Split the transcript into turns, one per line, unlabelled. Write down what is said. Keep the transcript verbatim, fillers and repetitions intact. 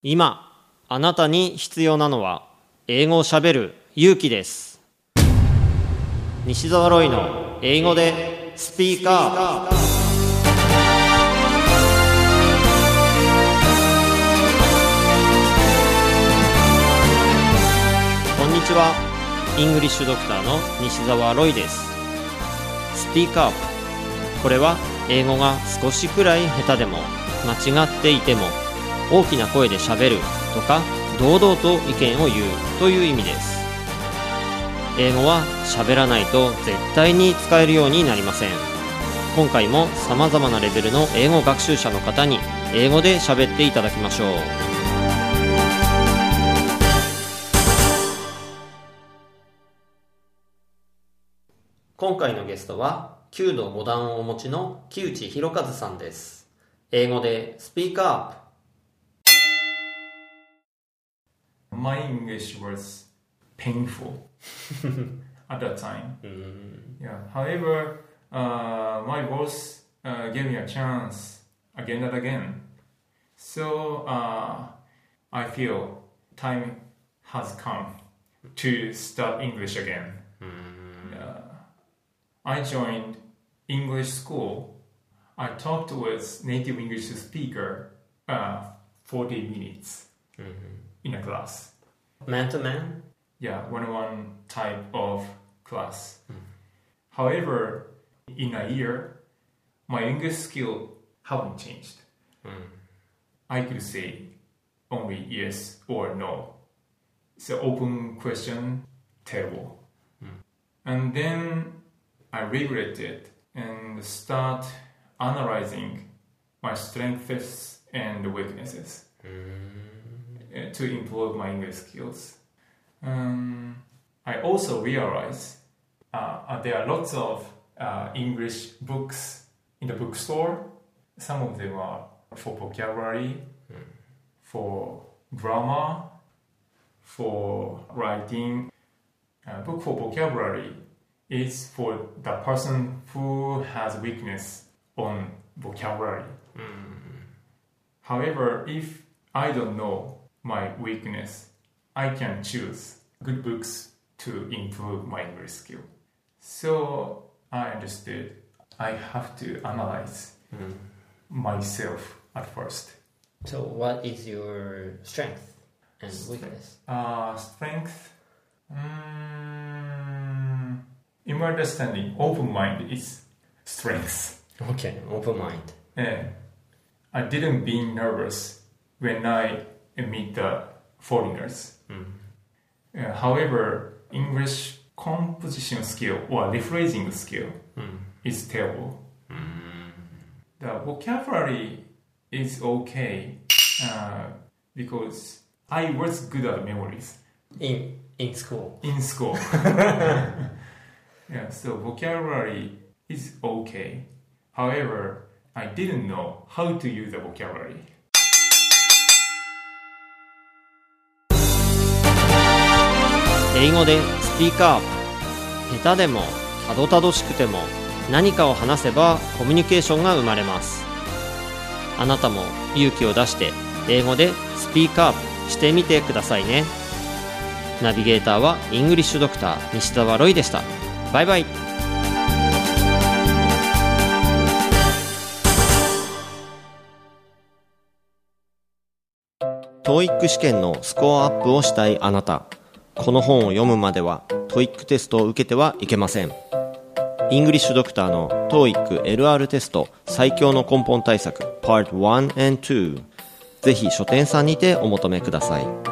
今あなたに必要なのは英語をしゃべる勇気です。西澤ロイの英語でスピーカー。こんにちは。イングリッシュドクターの西澤ロイです。スピーカー。これは英語が少しくらい下手でも間違っていても大きな声でしゃべるとか堂々と意見を言うという意味です。英語はしゃべらないと絶対に使えるようになりません。今回もさまざまなレベルの英語学習者の方に英語でしゃべっていただきましょう。今回のゲストはきゅうどご段をお持ちの木内博一さんです。英語でスピーカーアップ。
My English was painful at that time.
Mm.
Yeah. However, uh, my boss uh, gave me a chance again and again. So uh, I feel time has come to start English again.
Mm.
Uh, I joined English school. I talked with native English speaker uh, forty minutes in a class.
Man to man?
Yeah, one-on-one type of class. Mm. However, in a year, my English skill haven't changed.
Mm.
I could say only yes or no. It's an open question, terrible.
Mm.
And then I regret it and start analyzing my strengths and weaknesses.
Mm.
To improve my English skills. Um, I also realize uh, there are lots of uh, English books in the bookstore. Some of them are for vocabulary,
mm.
for grammar, for writing. A book for vocabulary is for the person who has weakness on vocabulary.
Mm.
However, if I don't know my weakness, I can choose good books to improve my English skill. So I understood I have to analyze
mm.
myself at first.
So what is your strength and weakness?
Uh, strength? Um, in my understanding, open mind is strength.
Okay, open mind.
And I didn't be nervous when I meet the foreigners.
Mm.
Uh, however, English composition skill or rephrasing skill
mm.
is terrible.
Mm.
The vocabulary is okay uh, because I was good at memories.
In in school.
In school. Yeah, so vocabulary is okay. However, I didn't know how to use the vocabulary.
英語でスピーカーアップ。下手でもたどたどしくても何かを話せばコミュニケーションが生まれます。あなたも勇気を出して英語でスピーカーアップしてみてくださいね。ナビゲーターはイングリッシュドクター西澤ロイでした。バイバイ。トーイック 試験のスコアアップをしたいあなた。この本を読むまでは トーイック テストを受けてはいけません。イングリッシュドクターの トーイック エルアール テスト最強の根本対策 パートワン and ツー、ぜひ書店さんにてお求めください。